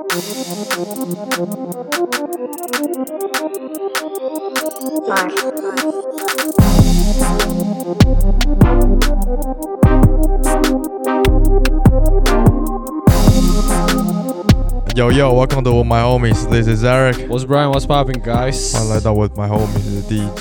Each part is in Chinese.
Yo yo, welcome to With My Homies. This is Eric. 我是 Brian. What's popping, guys? 欢迎来到 With My Homies 的第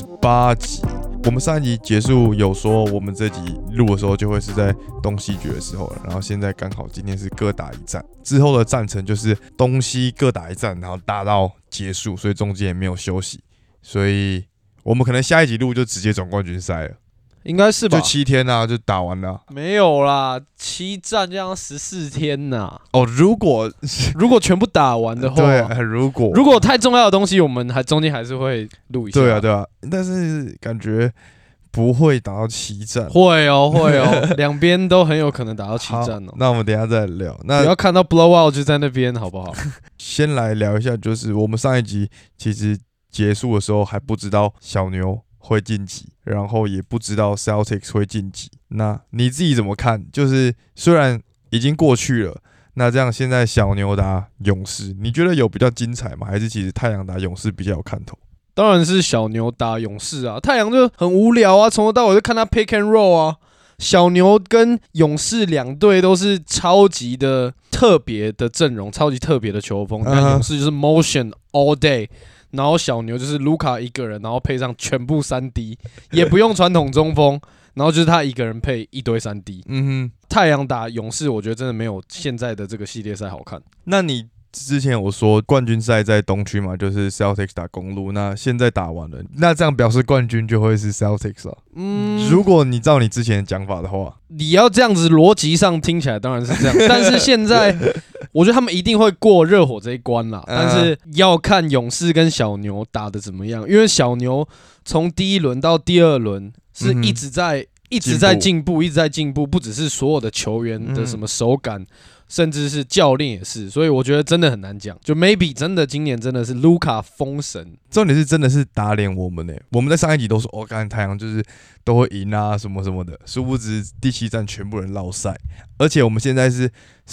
78集。我们上一集结束有说，我们这集录的时候就会是在东西决的时候了，然后现在刚好今天是各打一战，之后的战程就是东西各打一战，然后打到结束，所以中间也没有休息，所以我们可能下一集录就直接总冠军赛了。 应该是吧？ 就7天啊，就打完了。 没有啦，7战这样14天呐。 哦，如果全部打完的话， 对，如果太重要的东西，我们中间还是会录一下。 对啊，但是感觉不会打到7战。 会哦，两边都很有可能打到7战哦。 那我们等一下再聊。那不要看到 blowout 就在那边，好不好？ 先来聊一下，就是我们上一集其实结束的时候还不知道小牛会晋级，然后也不知道 Celtics 会晋级。那你自己怎么看？就是虽然已经过去了，那这样现在小牛打勇士，你觉得有比较精彩吗？还是其实太阳打勇士比较有看头？ 当然是小牛打勇士啊，太阳就很无聊啊，从头到尾就看他 pick and roll 啊。小牛跟勇士两队都是超级的特别的阵容，超级特别的球风。但勇士就是 motion all day。然后小牛就是卢卡一个人，然后配上全部3D， 也不用传统中锋，然后就是他一个人配一堆3D。太阳打勇士，我觉得真的没有现在的这个系列赛好看。 那你之前有说冠军赛在东区嘛，就是 Celtics 打公鹿，那现在打完了，那这样表示冠军就会是 Celtics 了。如果你照你之前的讲法的话， 你要这样子逻辑上听起来当然是这样，但是现在我觉得他们一定会过热火这一关啦，但是要看勇士跟小牛打得怎么样，因为小牛从第一轮到第二轮是一直在进步，不只是所有的球员的什么手感。甚至是教练也是，所以我觉得真的很难讲。就 maybe 真的今年真的是卢卡封神， 重点是真的是打脸我们我们在上一集都说干太阳就是都会赢啊什么什么的，殊不知第7战全部人落赛，而且我们现在是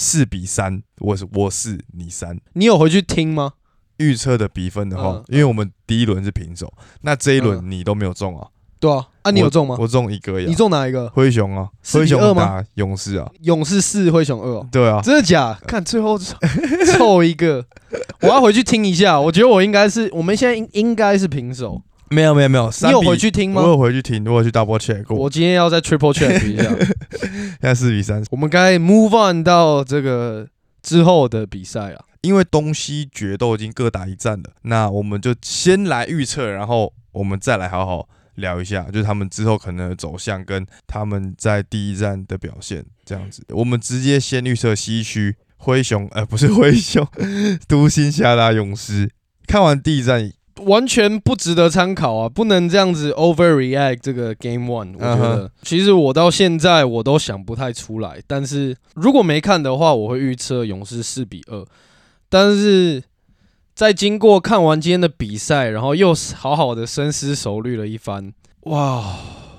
4-3，我4你3。 你有回去听吗？ 预测的比分的话，因为我们第一轮是平手，那这一轮你都没有中啊。对啊，你有中吗？ 我中1个呀。 你中哪一个？ 灰熊啊，灰熊打勇士啊， 勇士4，灰熊2。 对啊， 真的假？看最后凑一个，我要回去听一下。我觉得我们现在应该是平手。 没有，你有回去听吗？ 我有回去听，我有去 double check 过。 我今天要再 triple check 一下。 现在4-3， 我们该 move on 到这个之后的比赛啊， 因为东西决都已经各打一战了，那我们就先来预测，然后我们再来好好聊一下，就是他们之后可能的走向跟他们在第一站的表现这样子。我们直接先预测西区灰熊，不是灰熊，独行侠打勇士。看完第一站， 完全不值得参考啊，不能这样子 overreact 这个 game one。我觉得其实我到现在我都想不太出来，但是如果没看的话，我会预测勇士4-2。但是在经过看完今天的比赛，然后又好好的深思熟虑了一番，哇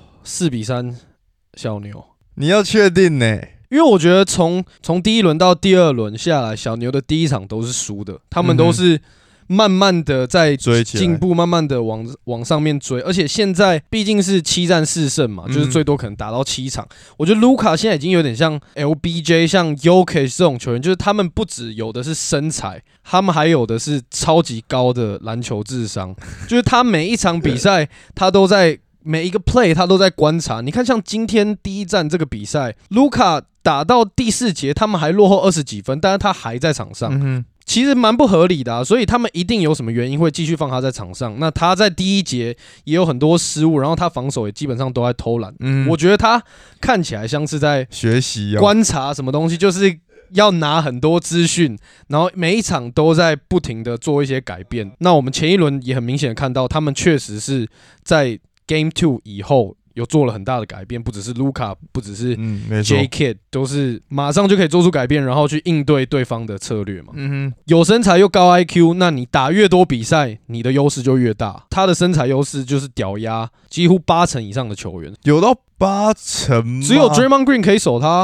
，4-3小牛， 你要确定呢？ 因为我觉得从第一轮到第二轮下来，小牛的第一场都是输的，他们都是慢慢的在进步，慢慢的往上面追，而且现在毕竟是7战4胜嘛，就是最多可能打到7场。我觉得卢卡现在已经有点像 LBJ、像 Jokic 这种球员，就是他们不只有的是身材，他们还有的是超级高的篮球智商，就是他每一场比赛他都在每一个 play 他都在观察。你看像今天第一战这个比赛，卢卡打到第4节，他们还落后20几分，但是他还在场上。其实蛮不合理的啊，所以他们一定有什么原因会继续放他在场上。那他在第一节也有很多失误，然后他防守也基本上都在偷懒。我觉得他看起来像是在学习观察什么东西，就是要拿很多资讯，然后每一场都在不停的做一些改变。那我们前一轮也很明显的看到，他们确实是在 Game 2以后有做了很大的改变，不只是卢卡，不只是 J Kid， 都是马上就可以做出改变，然后去应对对方的策略嘛。有身材又高 IQ， 那你打越多比赛，你的优势就越大。他的身材优势就是屌压几乎80%以上的球员， 有到80%吗？ 只有 Draymond Green 可以守他。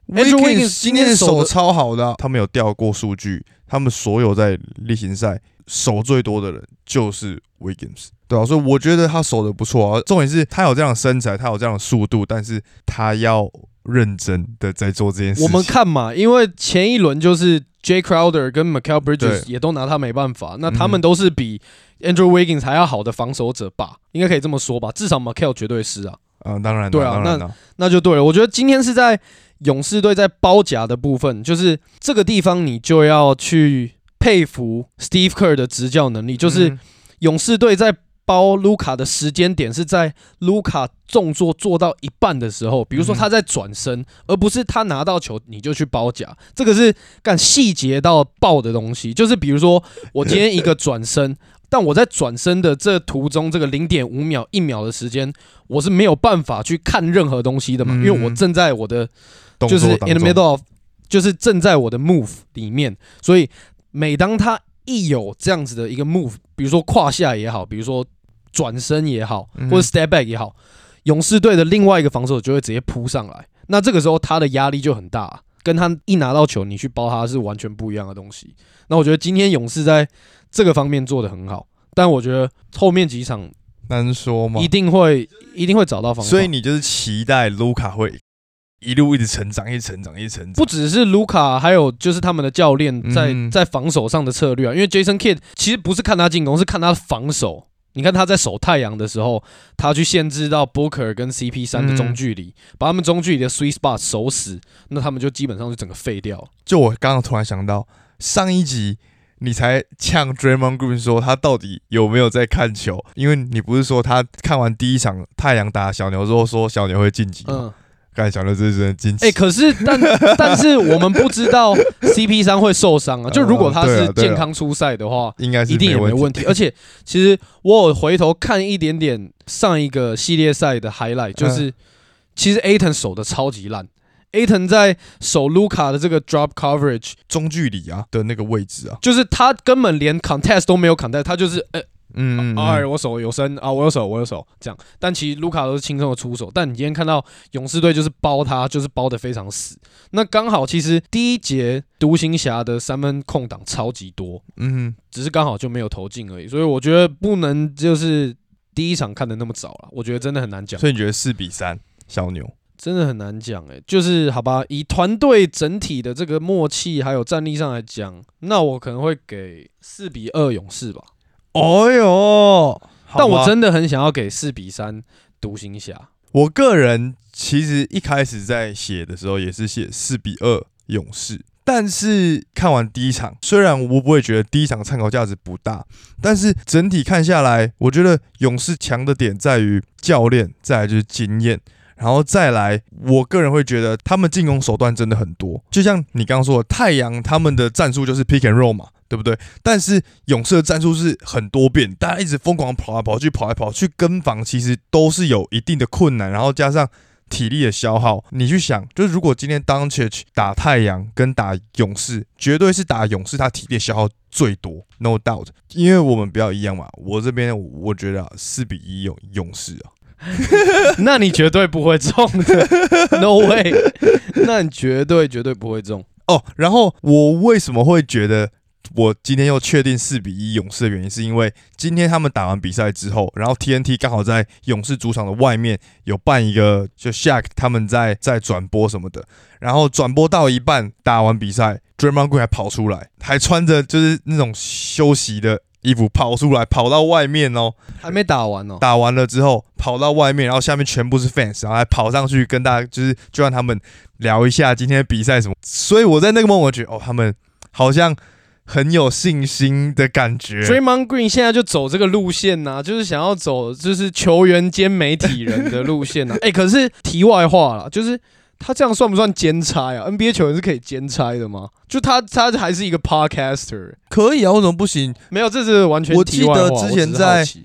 Andrew Wiggins 今天手超好的他们有调过数据，他们所有在例行赛手最多的人就是 Wiggins， 对啊，所以我觉得他手的不错啊。重点是他有这样的身材，他有这样的速度，但是他要认真的在做这件事情。 我们看嘛，因为前一轮就是 Jay Crowder 跟 Mikal Bridges 也都拿他没办法，那他们都是比 Andrew Wiggins 还要好的防守者吧，应该可以这么说吧，至少 Mikal 绝对是啊。 当然， 对啊，那就对了。我觉得今天是在勇士队在包夹的部分，就是这个地方你就要去佩服 Steve Kerr 的执教能力，就是勇士队在包卢卡的时间点是在卢卡动作做到一半的时候，比如说他在转身，而不是他拿到球你就去包夹，这个是干细节到爆的东西。就是比如说我今天一个转身，但我在转身的这途中，这个0.5秒、1秒的时间，我是没有办法去看任何东西的嘛，因为我正在我的就是 in the middle of， 就是正在我的 move 里面，所以每当他一有这样子的一个 move， 比如说胯下也好，比如说转身也好，或者 step back 也好，勇士队的另外一个防守就会直接扑上来，那这个时候他的压力就很大，跟他一拿到球你去包他是完全不一样的东西。那我觉得今天勇士在这个方面做得很好，但我觉得后面几场难说吗？ 一定会找到方法。 所以你就是期待卢卡会一路一直成长，不只是卢卡，还有就是他们的教练在防守上的策略啊。因为 Jason Kidd 其实不是看他进攻，是看他防守。你看他在守太阳的时候，他去限制到 Booker 跟 CP3 的中距离，把他们中距离的 sweet spot 守死，那他们就基本上就整个废掉。 就我刚刚突然想到，上一集你才呛 Draymond Green 说他到底有没有在看球，因为你不是说他看完第一场太阳打小牛之后说小牛会晋级吗？刚才小牛这是真的晋级。 可是但是我们不知道 CP3 会受伤啊。就如果他是健康出赛的话， 应该是一定也没问题。而且其实我有回头看一点点上一个系列赛的 highlight， 就是其实 Ayton 守的超级烂。Ayton 在守卢卡的这个 drop coverage 中距离的那个位置啊， 就是他根本连 contest 都没有 contest， 他就是我手有伸啊，我有手这样。但其实卢卡都是轻松的出手，但你今天看到勇士队就是包他，就是包得非常死。那刚好其实第一节独行侠的3分空档超级多，只是刚好就没有投进而已。所以我觉得不能就是第一场看得那么早了，我觉得真的很难讲。 所以你觉得4-3小牛？ 真的很难讲就是好吧，以团队整体的这个默契还有战力上来讲，那我可能会给4-2勇士吧。 哦哟， 但我真的很想要给4-3独行侠。 我个人其实一开始在写的时候也是写4-2勇士，但是看完第一场，虽然我不会觉得第一场参考价值不大，但是整体看下来，我觉得勇士强的点在于教练，再来就是经验。然后再来，我个人会觉得他们进攻手段真的很多，就像你刚刚说的，太阳他们的战术就是 pick and roll 嘛，对不对？但是勇士的战术是很多变，大家一直疯狂跑来跑去跟防，其实都是有一定的困难，然后加上体力的消耗。你去想，就是如果今天 Doncic 打太阳跟打勇士，绝对是打勇士他体力的消耗最多 ，no doubt。因为我们比较一样嘛，我这边我觉得4-1勇士啊。 那你绝对不会中的 ，No way！ 那你绝对不会中哦。然后我为什么会觉得我今天又确定4-1勇士的原因，是因为今天他们打完比赛之后，然后 TNT 刚好在勇士主场的外面有办一个，就 Shaq 他们在转播什么的，然后转播到一半，打完比赛 ，Draymond Green 还跑出来，还穿着就是那种休息的衣服跑出来，跑到外面哦， 还没打完哦。 打完了之后跑到外面，然后下面全部是 fans， 然后还跑上去跟大家就让他们聊一下今天的比赛什么。所以我在那个 moment 我觉得他们好像很有信心的感觉。 Draymond Green 现在就走这个路线啊，就是想要走就是球员兼媒体人的路线啊。可是题外话啦，就是他这样算不算兼差啊 ？NBA 球员是可以兼差的吗？就他还是一个 podcaster， 可以啊，为什么不行？ 没有，这是完全题外话。 我记得之前在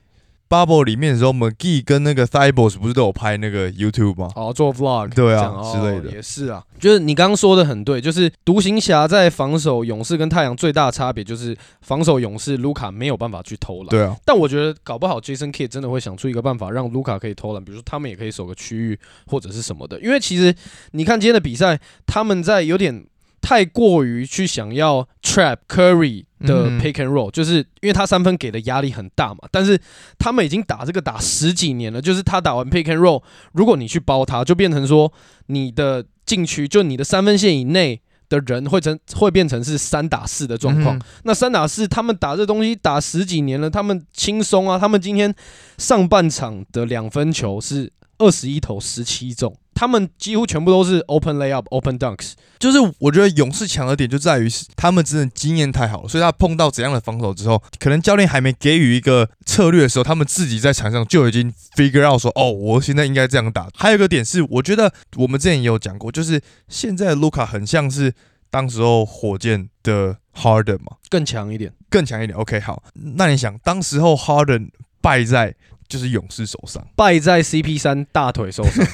Bubble 里面的时候 ，McGee 跟那个 Thibault 不是都有拍那个 YouTube 吗？ 做 vlog， 对啊之类的， 也是啊。就是你刚刚说的很对，就是独行侠在防守勇士跟太阳最大的差别就是防守勇士卢卡没有办法去投篮。 对啊， 但我觉得搞不好 Jason Kidd 真的会想出一个办法让卢卡可以投篮，比如说他们也可以守个区域或者是什么的。因为其实你看今天的比赛，他们在有点太过于去想要 trap Curry 的 pick and roll，就是因为他三分给的压力很大嘛，但是他们已经打这个打10几年了，就是他打完 pick and roll， 如果你去包他，就变成说你的禁区就你的三分线以内的人会变成是3打4的状况。那3打4，他们打这东西打10几年了，他们轻松啊！他们今天上半场的2分球是21投17中。他们几乎全部都是 open layup、open dunks， 就是我觉得勇士强的点就在于他们真的经验太好了，所以他碰到怎样的防守之后，可能教练还没给予一个策略的时候，他们自己在场上就已经 figure out 说，哦，我现在应该这样打。还有一个点是，我觉得我们之前也有讲过，就是现在的卢卡很像是当时候火箭的 Harden 嘛， 更强一点。 OK， 好，那你想，当时候 Harden 败在就是勇士手上， 败在 CP3 大腿受伤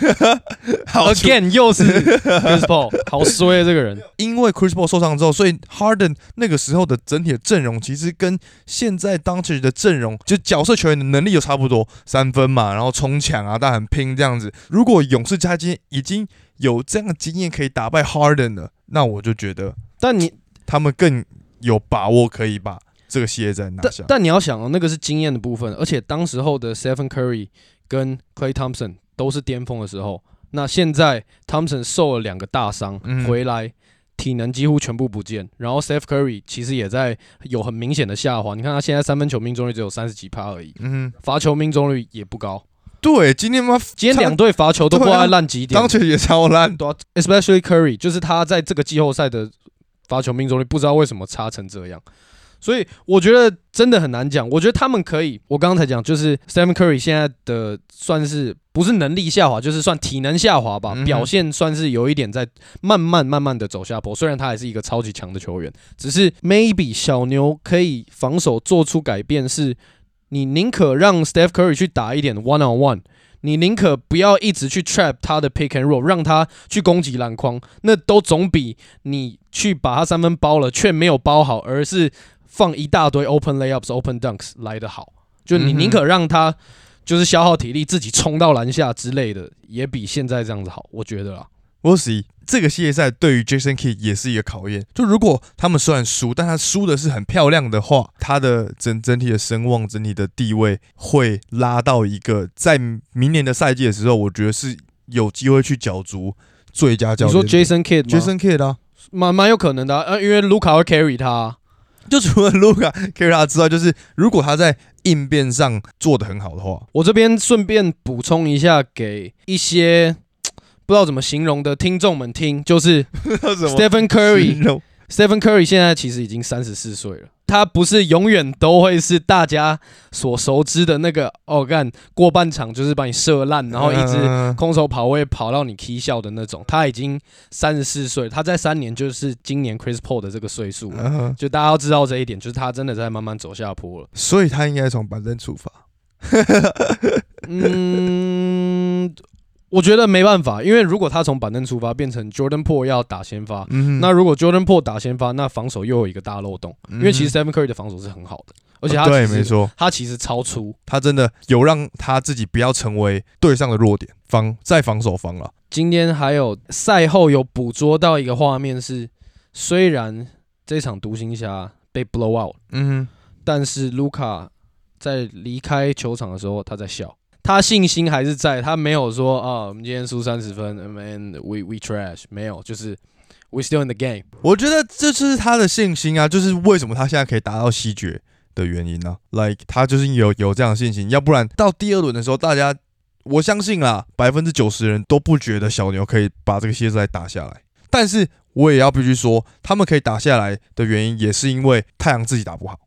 ，again 又是 Chris Paul， 好衰啊这个人。 因为 Chris Paul 受伤之后，所以 Harden 那个时候的整体的阵容其实跟现在 Doncic 的阵容，就角色球员的能力又差不多，3分嘛，然后冲抢啊，但很拼这样子。如果勇士今天已经有这样的经验可以打败 Harden 了，那我就觉得，他们更有把握可以把这个系列赛拿下。 但你要想哦，那个是经验的部分，而且当时候的 Stephen Curry 跟 Klay Thompson 都是巅峰的时候。那现在 Thompson 受了2个大伤，回来体能几乎全部不见，然后 Steph Curry 其实也在有很明显的下滑。你看他现在3分球命中率只有30几%而已，罚球命中率也不高。 对，今天 2队罚球都挂在烂极点， 当前也超烂。 Especially Curry， 就是他在这个季后赛的罚球命中率不知道为什么差成这样。所以我觉得真的很难讲。我觉得他们可以，我刚刚才讲，就是 Stephen Curry 现在的算是不是能力下滑，就是算体能下滑吧，表现算是有一点在慢慢的走下坡。虽然他还是一个超级强的球员，只是 maybe 小牛可以防守做出改变，是你宁可让 Steph Curry 去打一点 one on one。你宁可不要一直去 trap 他的 pick and roll， 让他去攻击篮筐，那都总比你去把他3分包了却没有包好，而是放一大堆 open layups、open dunks 来得好。就你宁可让他就是消耗体力自己冲到篮下之类的，也比现在这样子好，我觉得啦。 We'll see， 这个系列赛对于 Jason Kidd 也是一个考验。就如果他们虽然输，但他输的是很漂亮的话，他的整体的声望、整体的地位会拉到一个在明年的赛季的时候，我觉得是有机会去角逐最佳教练。 你说 Jason Kidd 吗？ Jason Kidd 啊， 蛮有可能的啊，因为卢卡会 carry 他啊。 就除了卢卡 carry 他之外，就是如果他在应变上做得很好的话， 我这边顺便补充一下，给一些不知道怎么形容的听众们听，就是 Stephen Curry 现在其实已经34岁了，他不是永远都会是大家所熟知的那个过半场就是把你射烂，然后一直空手跑位跑到你 key 笑的那种。他已经34岁，他在3年就是今年 Chris Paul 的这个岁数了，就大家要知道这一点，就是他真的在慢慢走下坡了。 所以他应该从板凳出发。 我觉得没办法，因为如果他从板凳出发变成 Jordan Poole 要打先发，那如果 Jordan Poole 打先发，那防守又有一个大漏洞，因为其实 Stephen Curry 的防守是很好的，而且对，没错， 他其实超粗， 他真的有让他自己不要成为队上的弱点，在防守方了。 今天还有赛后有捕捉到一个画面是，虽然这场独行侠被 blow out，但是卢卡在离开球场的时候他在笑。他信心还是在，他没有说我们今天输30分 ，man we trash， 没有，就是 we still in the game。 我觉得这就是他的信心啊，就是为什么他现在可以达到西决的原因啊。Like 他就是有这样的信心，要不然到第2轮的时候，我相信啦，90%的人都不觉得小牛可以把这个系列赛打下来。但是我也要必须说，他们可以打下来的原因，也是因为太阳自己打不好。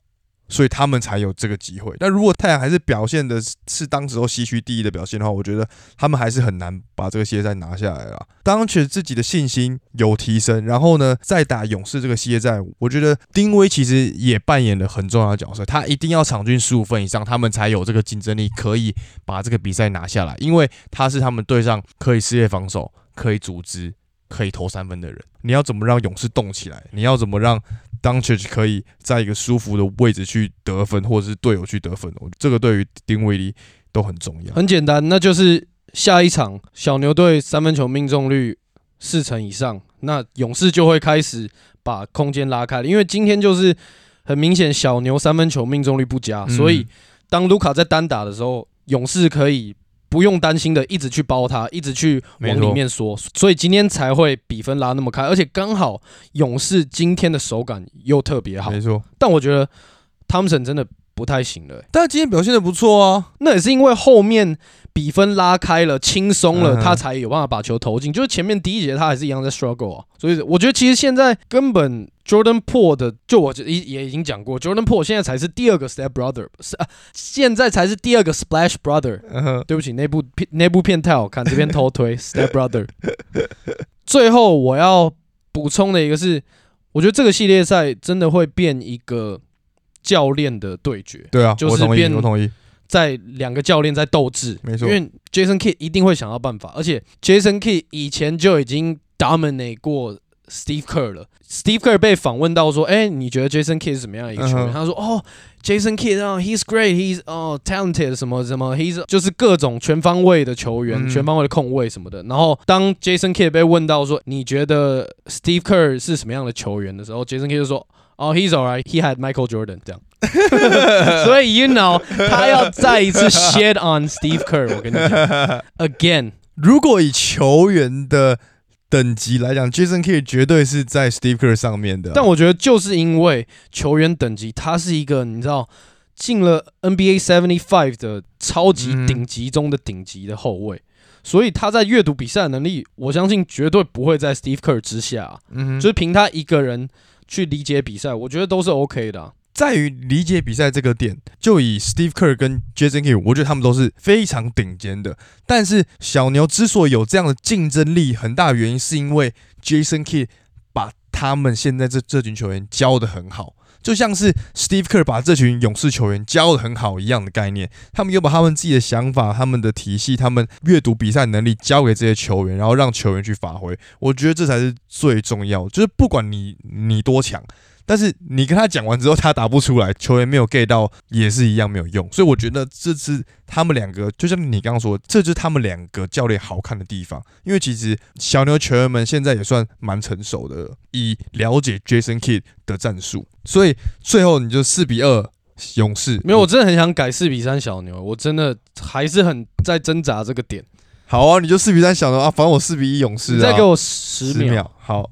所以他们才有这个机会。但如果太阳还是表现的是当时候西区第一的表现的话，我觉得他们还是很难把这个系列赛拿下来啦。当然自己的信心有提升，然后呢，再打勇士这个系列赛，我觉得丁威其实也扮演了很重要的角色。他一定要场均15分以上，他们才有这个竞争力，可以把这个比赛拿下来。因为他是他们队上可以撕裂防守、可以组织、可以投3分的人。你要怎么让勇士动起来？你要怎么让Doncic 可以在一个舒服的位置去得分，或者是队友去得分？这个对于丁威迪都很重要。 很简单，那就是下一场小牛队3分球命中率40%以上，那勇士就会开始把空间拉开了。因为今天就是很明显小牛3分球命中率不佳，所以当卢卡在单打的时候，勇士可以不用担心的一直去包他，一直去往里面缩，所以今天才会比分拉那么开，而且刚好勇士今天的手感又特别好， 没错。 但我觉得汤普森真的不太行了， 但今天表现的不错啊， 那也是因为后面比分拉开了，轻松了，他才有办法把球投进。就是前面第一节他还是一样在 struggle 啊，所以我觉得其实现在根本 Jordan Poole 的，就我也已经讲过 ，Jordan Poole 现在才是第2个 Step Brother， 现在才是第2个 Splash Brother。对不起，那部片太好看，这边偷推 Step Brother。最后我要补充的一个是，我觉得这个系列赛真的会变一个教练的对决。 对啊， 就是我同意。 在2个教练在斗智， 没错， 因为 Jason Kidd 一定会想到办法，而且 Jason Kidd 以前就已经 dominate 过 Steve Kerr 了。Steve Kerr 被访问到说：“你觉得 Jason Kidd 是什么样的一个球员？”他说：“Jason Kidd he's great, he's talented 什么什么 ，he's 就是各种全方位的球员，全方位的控卫什么的。”然后当 Jason Kidd 被问到说：“你觉得 Steve Kerr 是什么样的球员的时候 ，Jason Kidd 就说：“He's alright, he had Michael Jordan 这样。”所以 you know 他要再一次 shit on Steve Kerr， 我跟你讲 ，again， 如果以球员的等级来讲 ，Jason Kidd 绝对是在 Steve Kerr 上面的。 但我觉得就是因为球员等级，他是一个你知道进了 NBA 75的超级顶级中的顶级的后卫，所以他在阅读比赛的能力，我相信绝对不会在 Steve Kerr 之下。就是凭他一个人去理解比赛，我觉得都是 OK 的。 在于理解比赛这个点，就以 Steve Kerr 跟 Jason Kidd， 我觉得他们都是非常顶尖的。但是小牛之所以有这样的竞争力，很大的原因是因为 Jason Kidd 把他们现在这群球员教得很好，就像是 Steve Kerr 把这群勇士球员教得很好一样的概念。他们又把他们自己的想法、他们的体系、他们阅读比赛能力交给这些球员，然后让球员去发挥。我觉得这才是最重要的，就是不管你多强。但是你跟他讲完之后，他打不出来，球员没有 get 到，也是一样没有用。所以我觉得这是他们2个，就像你刚刚说，这就是他们2个教练好看的地方。因为其实小牛球员们现在也算蛮成熟的，以了解 Jason Kidd 的战术，所以最后你就4-2勇士。 没有，我真的很想改4-3小牛，我真的还是很在挣扎这个点。 好啊，你就4-3小牛啊，反正我4-1勇士啊。 你再给我10秒。 好。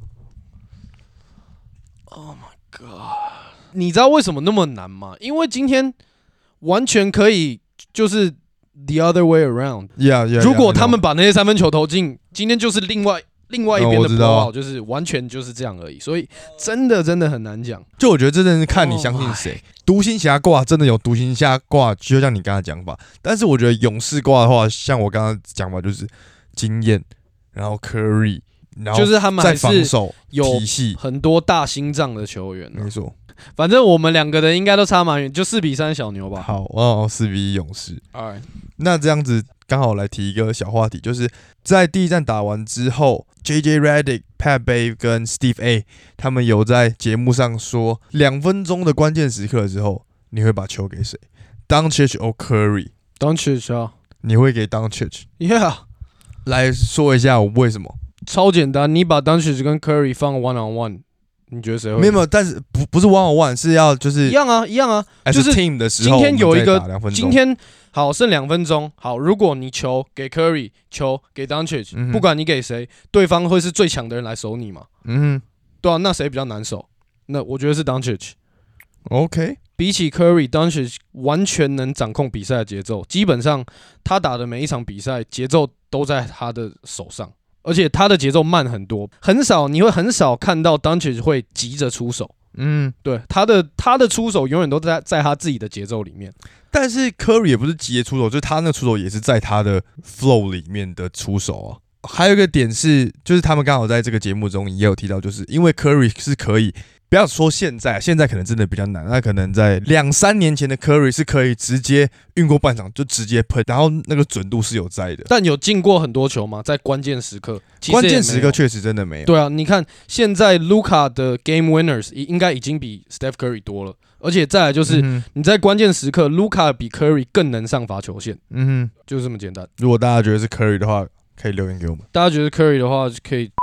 你知道为什么那么难吗？因为今天完全可以就是 the other way around。如果他们把那些3分球投进，今天就是另外一边的blowout，就是完全就是这样而已。所以真的很难讲。 就我觉得这真的是看你相信谁。独行侠挂真的有独行侠挂，就像你刚才讲法。但是我觉得勇士挂的话，像我刚刚讲法就是经验，然后 Curry， 然后就是他们还是防守有体系很多大心脏的球员。 没错。 反正我们2个的应该都差蛮远，就4-3小牛吧。 好，4-1勇士。 Alright， 那这样子刚好来提一个小话题，就是在第一战打完之后 ，JJ Redick、Pat Bev 跟 Steve A 他们有在节目上说，2分钟的关键时刻之后，你会把球给谁 ？Doncic or Curry？Doncic 啊， 你会给 Doncic？Yeah， 来说一下为什么？ 超简单，你把 Doncic 跟 Curry 放 one on one。你觉得谁会？ 没有，但是不是 one on one， 是要就是一样啊，就是 team 的时候， 今天有一个今天好剩2分钟，好，如果你球给 Curry， 球给 Doncic，不管你给谁，对方会是最强的人来守你嘛？对啊，那谁比较难守？那我觉得是 Doncic。OK， 比起 Curry，Doncic 完全能掌控比赛的节奏，基本上他打的每一场比赛节奏都在他的手上。而且他的节奏慢很多，你会很少看到 Doncic 会急着出手， 对，他的出手永远都在他自己的节奏里面。 但是 Curry 也不是急着出手，就是他那出手也是在他的 flow 里面的出手啊。还有一个点是，就是他们刚好在这个节目中也有提到，就是因为 Curry 是可以。不要说现在可能真的比较难，那可能在2-3年前的 Curry 是可以直接运过半场就直接喷，然后那个准度是有在的。 但有进过很多球吗？在关键时刻， 关键时刻确实真的没有。 对啊，你看现在 Luka 的 Game Winners 应该已经比 Steph Curry 多了，而且再来就是你在关键时刻 ，Luka 比 Curry 更能上罚球线。就这么简单。 如果大家觉得是 Curry 的话，可以留言给我们。 大家觉得 Curry 的话，可以。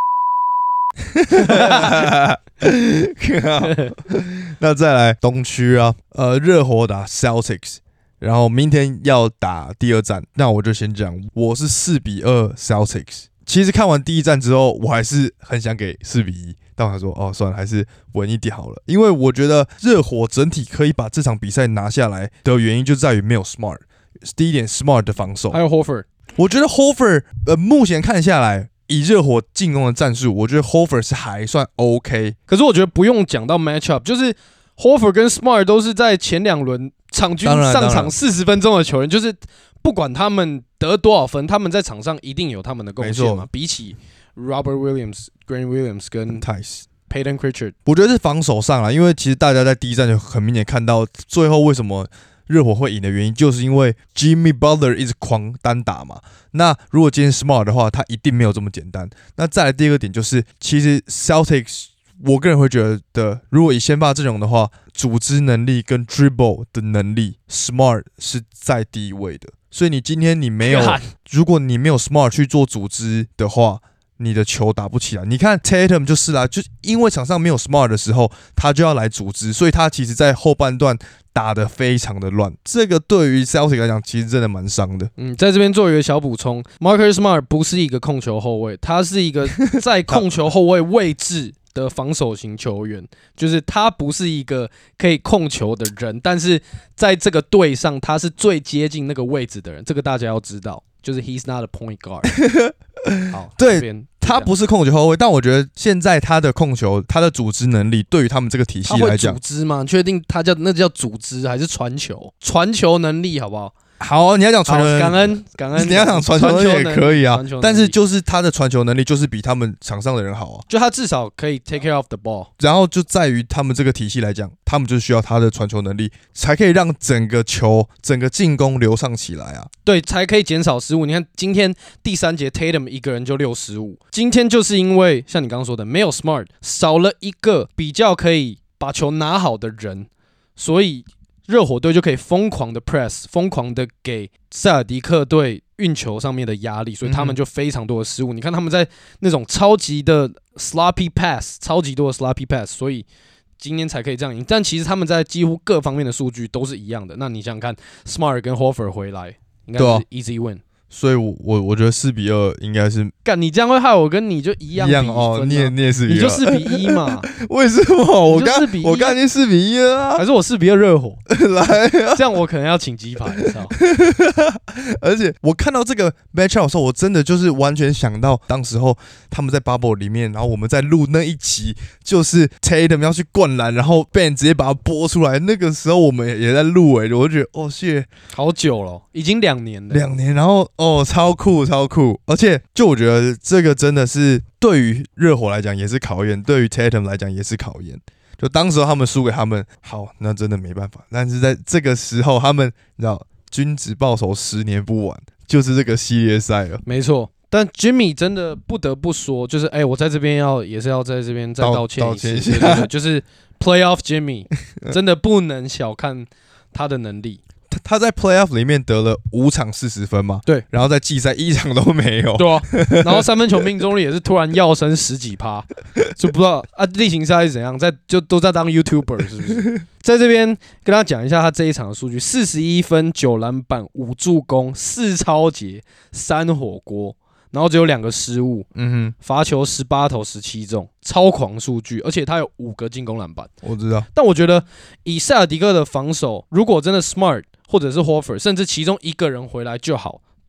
那再来东区啊，热火打 Celtics， 然后明天要打第二战。那我就先讲，我是4-2 Celtics。其实看完第一战之后，我还是很想给4-1，但我还说算了，还是稳一点好了。因为我觉得热火整体可以把这场比赛拿下来的原因就在于没有 Smart。第一点 ，Smart 的防守， 还有 Horford。 我觉得 Horford 目前看下来。以热火进攻的战术，我觉得 Horford 是还算 OK， 可是我觉得不用讲到 matchup， 就是 Horford 跟 Smart 都是在前2轮场均上场40分钟的球员，就是不管他们得多少分，他们在场上一定有他们的贡献嘛。比起 Robert Williams、Grant Williams 跟 Payton Pritchard， 我觉得是防守上啦，因为其实大家在第一站就很明显看到，最后为什么热火会赢的原因，就是因为 Jimmy Butler 一直狂单打嘛。那如果今天 Smart 的话，他一定没有这么简单。那再来第二个点就是，其实 Celtics 我个人会觉得，如果以先发阵容的话，组织能力跟 dribble 的能力 ，Smart 是在第一位的。所以你今天你没有，如果你没有 Smart 去做组织的话，你的球打不起来。你看 Tatum 就是啦，就因为场上没有 Smart 的时候，他就要来组织，所以他其实在后半段打得非常的乱。这个对于 Celtics 来讲，其实真的蛮伤的。 在这边做一个小补充 ，Marcus Smart 不是一个控球后卫，他是一个在控球后卫位置的防守型球员，就是他不是一个可以控球的人，但是在这个队上，他是最接近那个位置的人，这个大家要知道，就是 he's not a point guard 好， 对，他不是控球后卫，但我觉得现在他的控球、他的组织能力，对于他们这个体系来讲， 他会组织吗？你确定他那叫组织还是传球？传球能力好不好？ 好，你要讲传球能力， 感恩， 你要讲传球能力也可以啊。但是就是他的传球能力就是比他们场上的人好啊， 就他至少可以 take care of the ball。 然后就在于他们这个体系来讲，他们就需要他的传球能力，才可以让整个球、整个进攻流畅起来啊。 对，才可以减少失误。你看今天第3节 Tatum 一个人就6失误，今天就是因为像你刚刚说的，没有 Smart， 少了一个比较可以把球拿好的人，所以热火队就可以疯狂的 press， 疯狂的给塞尔迪克队运球上面的压力，所以他们就非常多的失误。你看他们在那种超级的 sloppy pass， 超级多的 sloppy pass， 所以今天才可以这样赢。但其实他们在几乎各方面的数据都是一样的。那你想想看 ，Smart 跟 Horford 回来，应该是 easy win。 所以我觉得4-2应该是。 干，你这样会害我跟你就一样哦，你也4-2， 你就4-1嘛？ 为什么？我刚已经4-1了啊！ 还是我4-2热火？ 来啊！ 这样我可能要请鸡排，你知道？ 而且我看到这个 matchup 的时候，我真的就是完全想到当时候他们在 bubble 里面，然后我们在录那一集，就是 Tatum 要去灌篮，然后 Ben 直接把它播出来。那个时候我们也在录我就觉得shit， 好久了，已经2年了。 2年，然后超酷，而且就我觉得这个真的是对于热火来讲也是考验，对于 Tatum 来讲也是考验。就当时他们输给他们，好，那真的没办法。但是在这个时候，他们你知道，君子报仇10年不晚，就是这个系列赛了。 没错。但 Jimmy 真的不得不说，就是我在这边也是要在这边再道歉一次，对，就是 Playoff Jimmy 真的不能小看他的能力。 他在 Playoff 里面得了5场40分嘛， 对， 然后在季赛1场都没有， 对啊，然后3分球命中率也是突然跃升10几%，就不知道例行赛是怎样，就都在当 YouTuber 是不是？在这边跟他讲一下他这一场的数据：41分、9篮板、5助攻、4抄截、3火锅。然后只有2个失误，罚球18投17中，超狂数据，而且他有5个进攻篮板。 我知道， 但我觉得以塞尔迪克的防守，如果真的 Smart 或者是 Horford， 甚至其中一个人回来就好，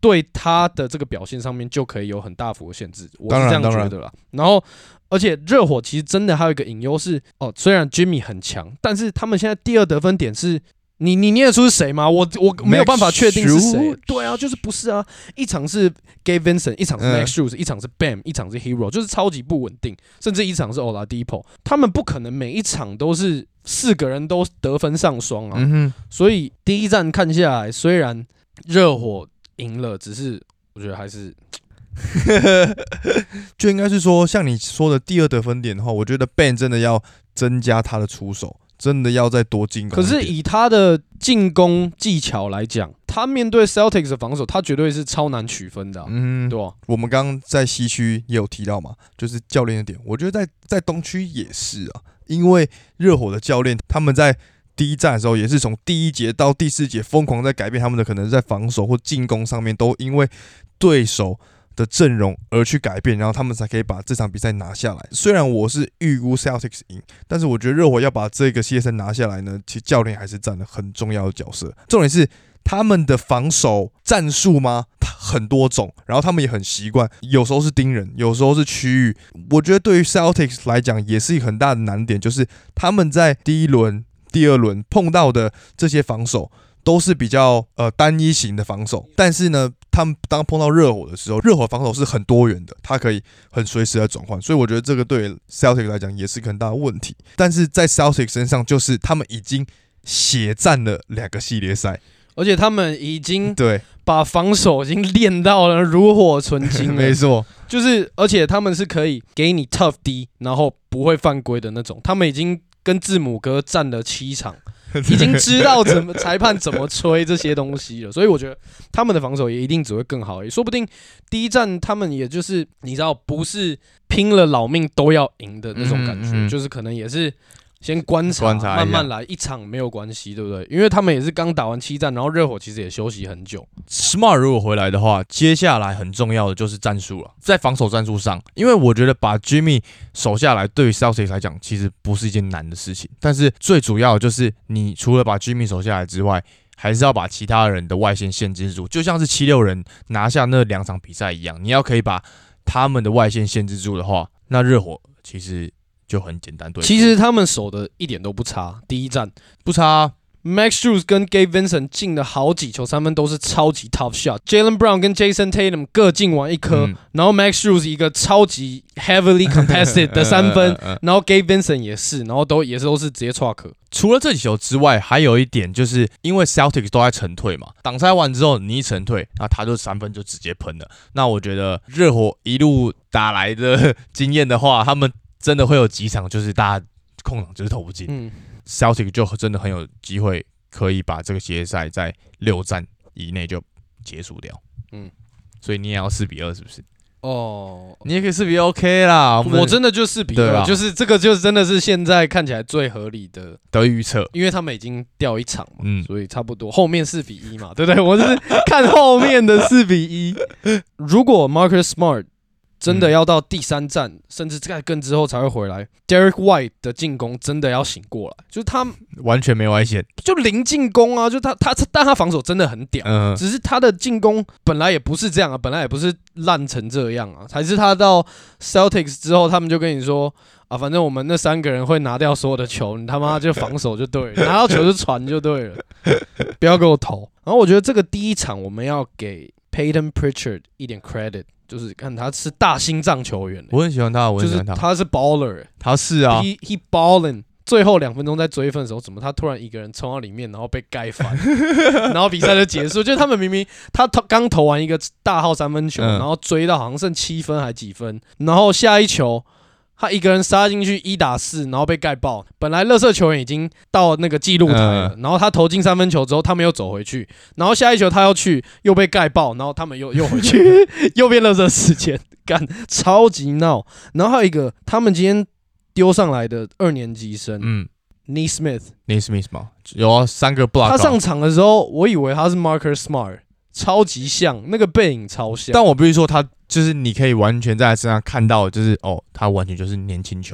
对他的这个表现上面就可以有很大幅的限制，我是这样觉得啦。然后，而且热火其实真的还有一个隐忧是，虽然 Jimmy 很强，但是他们现在第二得分点是。你念得出是谁吗？我没有办法确定是谁。对啊，就是不是啊？一场是 Gabe Vincent， 一场是 Max Strus， 一场是 Bam， 一场是 Hero， 就是超级不稳定。甚至一场是 Oladipo， 他们不可能每一场都是4个人都得分上双啊。所以第一战看下来，虽然热火赢了，只是我觉得还是。 就应该是说，像你说的第二得分点的话，我觉得 Bam 真的要增加他的出手。真的要再多进攻。 可是以他的进攻技巧来讲，他面对 Celtics 的防守，他绝对是超难取分的、对吧？ 我们刚刚在西区也有提到嘛，就是教练的点，我觉得在东区也是啊，因为热火的教练他们在第一战的时候也是从第1节到第4节疯狂在改变他们的可能在防守或进攻上面，都因为对手的阵容而去改变，然后他们才可以把这场比赛拿下来。虽然我是预估 Celtics 赢，但是我觉得热火要把这个系列赛拿下来呢，其实教练还是占了很重要的角色。重点是他们的防守战术吗？很多种，然后他们也很习惯，有时候是盯人，有时候是区域。我觉得对于 Celtics 来讲也是一个很大的难点，就是他们在第1轮、第2轮碰到的这些防守都是比较单一型的防守，但是呢，他们当碰到热火的时候，热火防守是很多元的，它可以很随时的转换，所以我觉得这个对 Celtics 来讲也是很大的问题。但是在 Celtics 身上，就是他们已经血战了2个系列赛， 而且他们已经对把防守已经练到了炉火纯青了， 没错， 就是而且他们是可以给你 tough D， 然后不会犯规的那种，他们已经跟字母哥战了7场。已经知道裁判怎么吹这些东西了，所以我觉得他们的防守也一定只会更好，说不定第一战他们也就是你知道不是拼了老命都要赢的那种感觉，就是可能也是先观察慢慢来，一场没有关系，对不对？因为他们也是刚打完7战，然后热火其实也休息很久。 Smart 如果回来的话，接下来很重要的就是战术了，在防守战术上，因为我觉得把 Jimmy 守下来，对于 Celtics 来讲，其实不是一件难的事情。但是最主要的就是，你除了把 Jimmy 守下来之外，还是要把其他人的外线限制住，就像是76人拿下那2场比赛一样，你要可以把他们的外线限制住的话，那热火其实就很简单对付。 其实他们守的一点都不差，第一战不差啊。 Max Strus 跟 Gabe Vincent 进了好几球3分，都是超级 tough shot。Jaylen Brown 跟 Jason Tatum 各进完1颗，然后 Max Strus 一个超级 heavily contested 的3分，然后 Gabe Vincent 也是，然后都是直接 truck。 除了这几球之外，还有一点就是因为 Celtics 都在沉退嘛，挡拆完之后你一沉退，那他就3分就直接喷了。那我觉得热火一路打来的经验的话，他们真的会有几场就是大家空档就是投不进。Celtics 就真的很有机会可以把这个系列赛在6战以内就结束掉。所以你也要4-2是不是？你也可以4-2 OK 啦。 我真的就4-2，就是这个就真的是现在看起来最合理的预测， 因为他们已经掉1场嘛，所以差不多后面4-1嘛，对不对？我是看后面的4-1。如果 Marcus Smart真的要到第3战，甚至在更之后才会回来。Derek White 的进攻真的要醒过来，就是他完全没外线， 就零进攻啊！就但他防守真的很屌，只是他的进攻本来也不是这样啊，本来也不是烂成这样啊，还是他到 Celtics 之后，他们就跟你说啊，反正我们那3个人会拿掉所有的球，你他妈就防守就对了，拿到球就传就对了，不要给我投。然后我觉得这个第一场我们要给 Peyton Pritchard 一点 credit。就是看他是大心脏球员， 我很喜欢他， 就是他是 baller， 他是啊 ，he ballin。最后2分钟在追分的时候，怎么他突然一个人冲到里面，然后被盖翻，然后比赛就结束。就是他们明明他刚投完一个大号3分球，然后追到好像剩7分还几分，然后下一球他一个人杀进去1打4，然后被盖爆。本来垃圾球员已经到那个记录台了，然后他投进3分球之后，他们又走回去，然后下一球他要去又被盖爆，然后他们又回去，又变垃圾时间，干超级闹。然后还有一个他们今天丢上来的2年级生，Nate Smith 嘛，有3个 block。 他上场的时候，我以为他是 Marcus Smart， 超级像，那个背影超像。 但我必须说，他就是你可以完全在他身上看到，就是他完全就是年轻球员，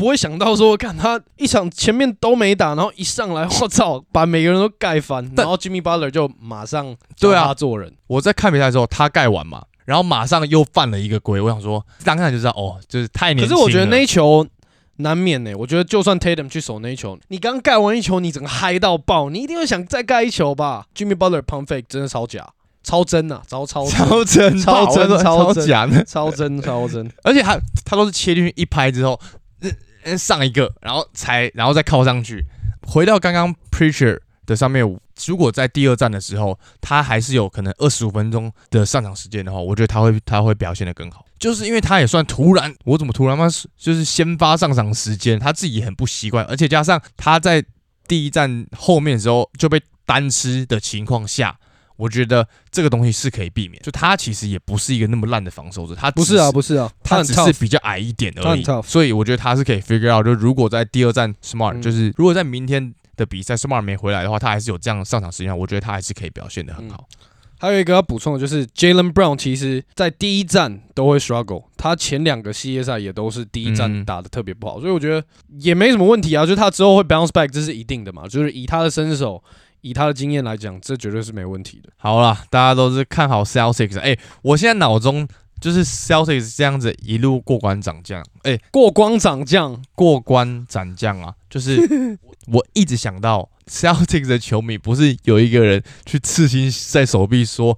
不会想到说，看他一场前面都没打，然后一上来，我操，把每个人都盖翻，然后 Jimmy Butler 就马上教他做人。 我在看比赛的时候，他盖完嘛，然后马上又犯了一个规，我想说，当下就知道哦，就是太年轻了。 可是我觉得那一球难免我觉得就算 Tatum 去守那一球，你刚盖完一球，你整个嗨到爆，你一定会想再盖一球吧 ？Jimmy Butler pump fake 真的超假。超真啊，超真， 超真， 超假的， 超真， 而且他都是切进去一拍之后，上一个，然后再靠上去。回到刚刚 Preacher 的上面，如果在第二战的时候，他还是有可能25分钟的上场时间的话，我觉得他会表现得更好。就是因为他也算突然，我怎么突然吗？就是先发上场时间，他自己也很不习惯，而且加上他在第一战后面的时候就被单吃的情况下。我觉得这个东西是可以避免，就他其实也不是一个那么烂的防守者，他不是啊， 他只是比较矮一点而已，所以我觉得他是可以 figure out， 就如果在第二战 Smart，就是如果在明天的比赛 Smart 没回来的话，他还是有这样上场时间，我觉得他还是可以表现得很好。 还有一个要补充的就是 Jaylen Brown 其实在第一战都会 struggle， 他前2个系列赛也都是第一战打得特别不好，所以我觉得也没什么问题啊，就是他之后会 bounce back， 这是一定的嘛，就是以他的身手。以他的经验来讲，这绝对是没问题的。 好啦，大家都是看好 Celtics。我现在脑中就是 Celtics 这样子一路过关斩将。 过关斩将啊！就是我一直想到 Celtics 的球迷，不是有一个人去刺青在手臂说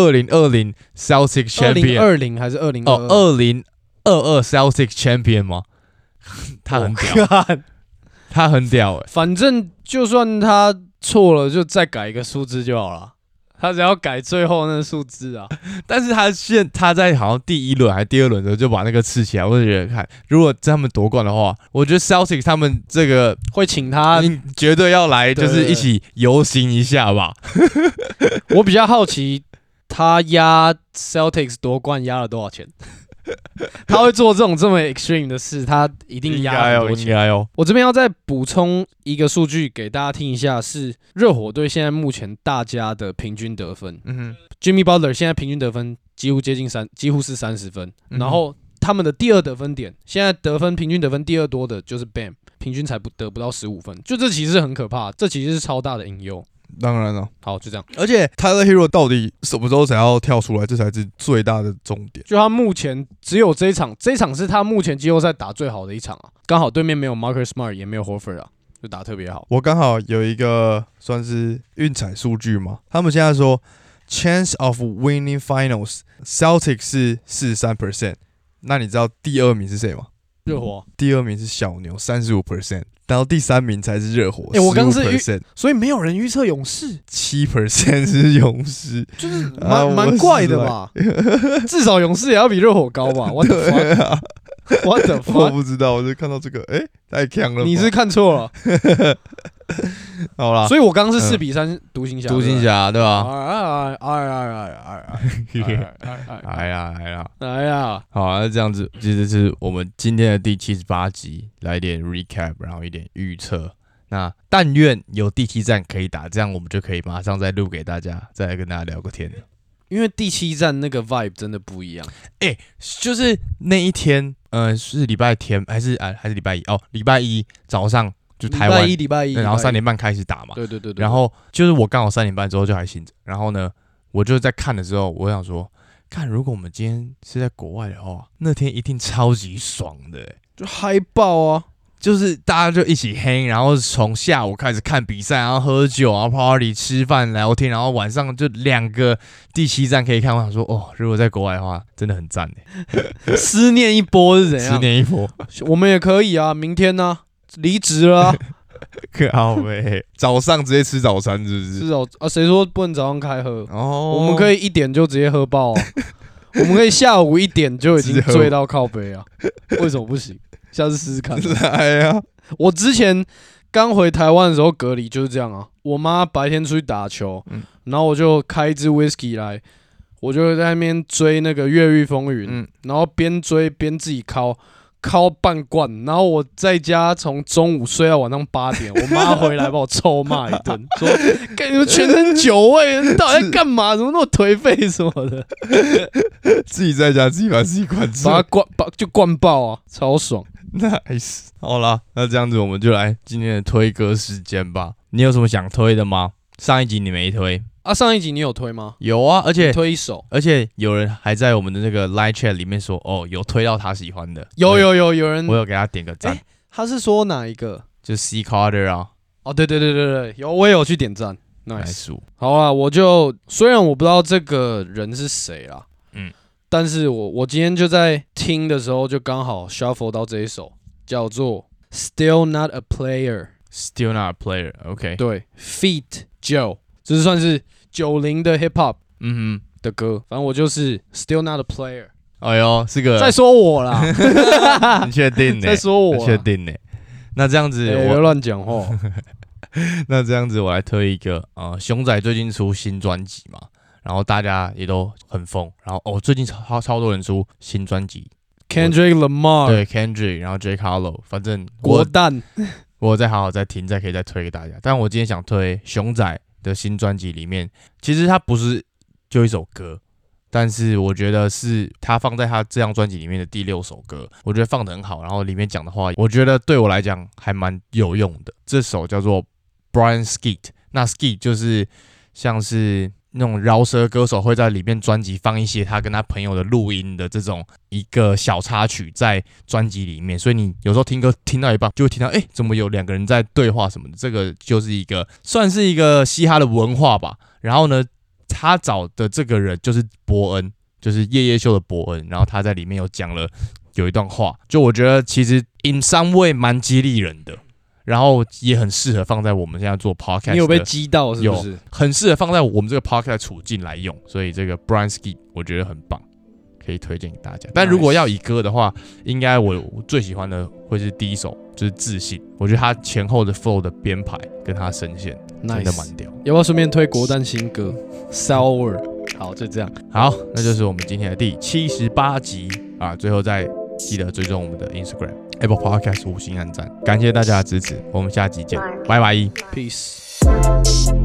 2020 Celtics Champion， 2020还是2022？ 哦，2022 Celtics Champion 吗？他很屌，他很屌反正就算他错了，就再改一个数字就好了。他只要改最后那个数字啊。 但是他在好像第1轮还是第2轮的时候就把那个刺起来，我就觉得看，如果他们夺冠的话，我觉得 Celtics 他们这个会请他， 绝对要来，就是一起游行一下吧。 我比较好奇，他压 Celtics 夺冠压了多少钱？他会做这么 extreme 的事，他一定压很多钱。 应该哦。 我这边要再补充一个数据给大家听一下，是热火队现在目前大家的平均得分。Jimmy Butler 现在平均得分几乎是30分，然后他们的第2得分点，现在平均得分第2多的就是 Bam， 平均才得不到15分，就这其实很可怕，这其实是超大的隐忧。 当然了， 好，就这样。 而且 Tyler Hero 到底什么时候才要跳出来，这才是最大的重点。 就他目前只有这一场是他目前季后赛打最好的一场啊，刚好对面没有 Marcus Smart， 也没有 Horford 啊，就打特别好。 我刚好有一个算是运彩数据嘛，他们现在说 Chance of winning finals Celtics 是 43%， 那你知道第2名是谁吗？ 热火。 第2名是小牛 35%。然后第3名才是热火， 我刚是所以没有人预测勇士 ，7% 是勇士， 就是蛮怪的吧？至少勇士也要比热火高吧 ？What the fuck？What the fuck？ 我不知道，我就看到这个，太强了吧。 你是看错了。 好啦， 所以我刚刚是4-3独行侠， 对吧？ 哎呀， 好，那这样子，其实是我们今天的第78集，来点 recap， 然后一点预测。那但愿有第7战可以打，这样我们就可以马上再录给大家，再来跟大家聊个天。 因为第7战那个 vibe 真的不一样。 就是那一天，是礼拜天还是礼拜1？礼拜1早上。就台湾礼拜一， 然后3点半开始打嘛。 对。 然后就是我刚好3点半之后就还醒着，然后呢，我就在看的时候，我想说，看如果我们今天是在国外的话，那天一定超级爽的， 就嗨爆啊！ 就是大家就一起黑，然后从下午开始看比赛，然后喝酒，然后 party 吃饭聊天，然后晚上就2个第7战可以看。我想说，如果在国外的话，真的很赞耶。 思念一波是怎样？ 思念一波， 我们也可以啊，明天呢？离职了、啊， 靠北，早上直接吃早餐是不是？ 是哦，谁说不能早上开喝？ 哦， 我们可以1点就直接喝爆、啊，我们可以下午1点就已经醉到靠北啊，为什么不行？下次试试看。 来呀！ 我之前刚回台湾的时候隔离就是这样啊，我妈白天出去打球，然后我就开一支 whisky 来，我就在那边追那个《越狱风云》，然后边追边自己敲半罐，然后我在家从中午睡到晚上8点，我妈回来把我臭骂一顿，说：“你们全身酒味，你到底在干嘛？怎么那么颓废什么的？” 自己在家自己把自己灌醉， 把它灌爆啊，超爽！ Nice， 好啦，那这样子我们就来今天的推歌时间吧。你有什么想推的吗？上一集你没推啊？上一集你有推吗？ 有啊，而且推一首， 而且有人还在我们的那个 Line Chat 里面说，哦，有推到他喜欢的。 有人， 我有给他点个赞。 他是说哪一个？ 就 C Carter 啊。 哦，对，有，我也有去点赞。 Nice， 好啊，虽然我不知道这个人是谁啦，但是我今天就在听的时候就刚好 shuffle 到这一首，叫做 Still Not a Player。Still Not a Player，OK， 对 ，Feat Joe， 这是算是90的 hip hop 的歌，反正我就是 Still Not a Player。 哎呦，是个在说我啦， 你确定呢？ 在说我， 确定呢？那这样子， 我乱讲话。 那这样子，我来推一个熊仔最近出新专辑嘛，然后大家也都很疯，然后最近超多人出新专辑 ，Kendrick Lamar， 对 Kendrick， 然后 J Harlow， 反正国蛋， 我再好好再听，再可以再推给大家。但我今天想推熊仔的新专辑里面，其实它不是就一首歌，但是我觉得是他放在他这张专辑里面的第6首歌，我觉得放得很好，然后里面讲的话，我觉得对我来讲还蛮有用的。这首叫做 Brian Skeet， 那 Skeet 就是像是那种饶舌歌手会在里面专辑放一些他跟他朋友的录音的这种一个小插曲在专辑里面，所以你有时候听歌听到一半就会听到，怎么有2个人在对话什么的，这个就是算是一个嘻哈的文化吧。然后呢，他找的这个人就是伯恩，就是夜夜秀的伯恩，然后他在里面有一段话，就我觉得其实 in some way 蛮激励人的，然后也很适合放在我们现在做 podcast。 你有被激到是不是？ 有，很适合放在我们这个 podcast 的处境来用，所以这个 Brian Skeet 我觉得很棒，可以推荐给大家。但如果要以歌的话，应该我最喜欢的会是第一首，就是自信。我觉得他前后的 flow 的编排跟他声线真的蛮屌。 要不要顺便推国蛋新歌 Sour？ 好，就这样。 好，那就是我们今天的第78集啊！最后再记得追踪我们的 Instagram、Apple Podcast 5星按赞，感谢大家的支持，我们下集见，拜拜 ，Peace。